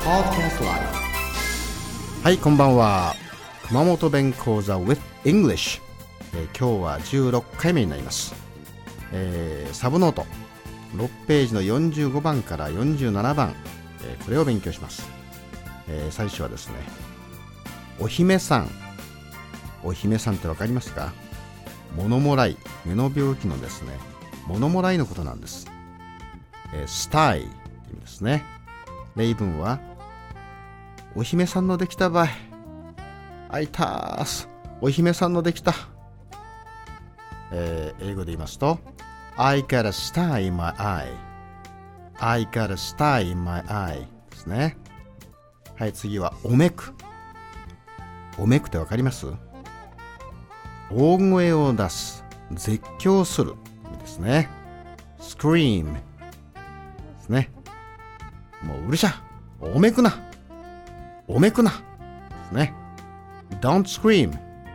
Podcast Live。 はい、こんばんは。熊本弁講座 with English、今日は16回目になります。サブノート6ページの45番から47番、これを勉強します。最初はですね、お姫さん。お姫さんってわかりますか？物もらい、目の病気のですね、物もらいのことなんです。スタイって意味ですね。例文は、お姫さんのできたばい。あいたーす。お姫さんのできた。英語で言いますと、I got a star in my eye。I got a star in my eye ですね。はい、次はおめく。おめくってわかります？大声を出す、絶叫する意味ですね。scream ですね。もううるしゃ、おめくな、おめくなですね。Don't scream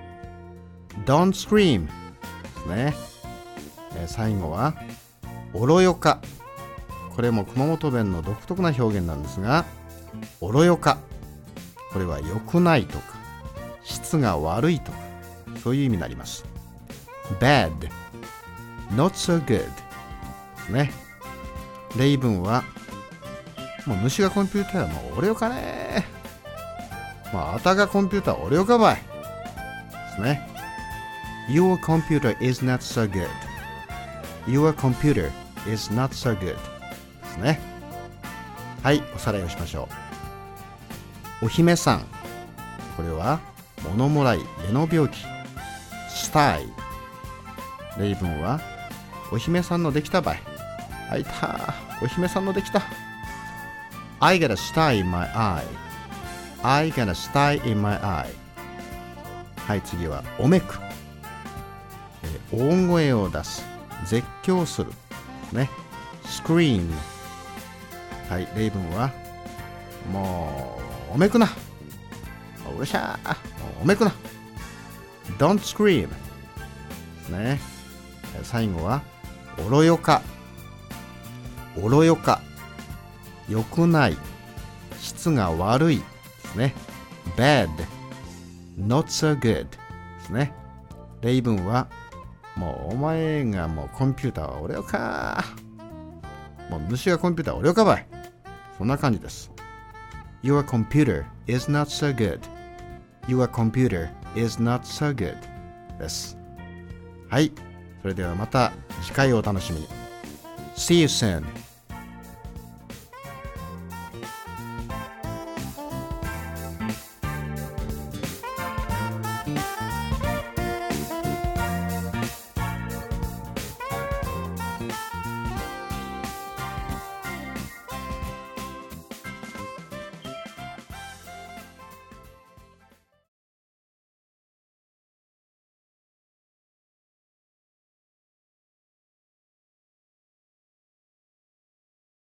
Don't scream ですね。最後はおろよか。これも熊本弁の独特な表現なんですが、おろよか、これは良くないとか質が悪いとか、そういう意味になります。 Bad Not so good ですね。例文は、もう主がコンピューターはもうおろよかね、あたがコンピューターおろよかばいですね。 Your computer is not so good Your computer is not so good ですね。はい、おさらいをしましょう。お姫さん、これは物もらい、目の病気。スタイ、例文はお姫さんのできたばい。あいた、お姫さんのできた。 I got a star in my eye I got a star in my eye。 はい、次はおめく。大声を出す、絶叫するね。scream。 はい、例文はもうおめくな、うるしゃー、おめくな。 Don't scream ですね。最後はおろよか。おろよか、良くない、質が悪いですね。Bad Not so good ですね。例文はもうお前がもうコンピューターはおろよか、もう主がコンピューターおろよかばい、そんな感じです。 Your computer is not so good Your computer is not so good です。はい、それではまた次回をお楽しみに。 See you soon